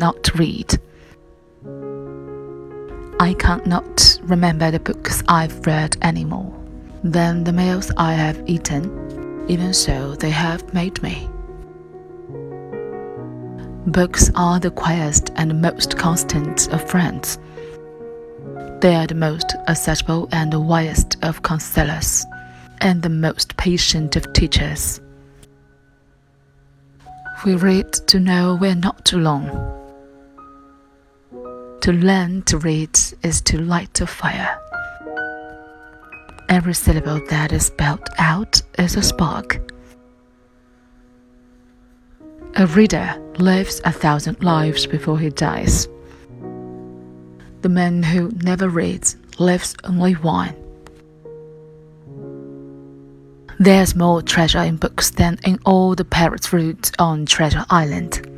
cannot read. I cannot remember the books I've read anymore than the meals I have eaten, even so they have made me. Books are the quietest and most constant of friends. They are the most accessible and the wisest of counselors, and the most patient of teachers. We read to know we're not alone. To learn to read is to light a fire. Every syllable that is spelled out is a spark. A reader lives 1,000 lives before he dies. The man who never reads lives only one. There's more treasure in books than in all the parrot fruit on Treasure Island.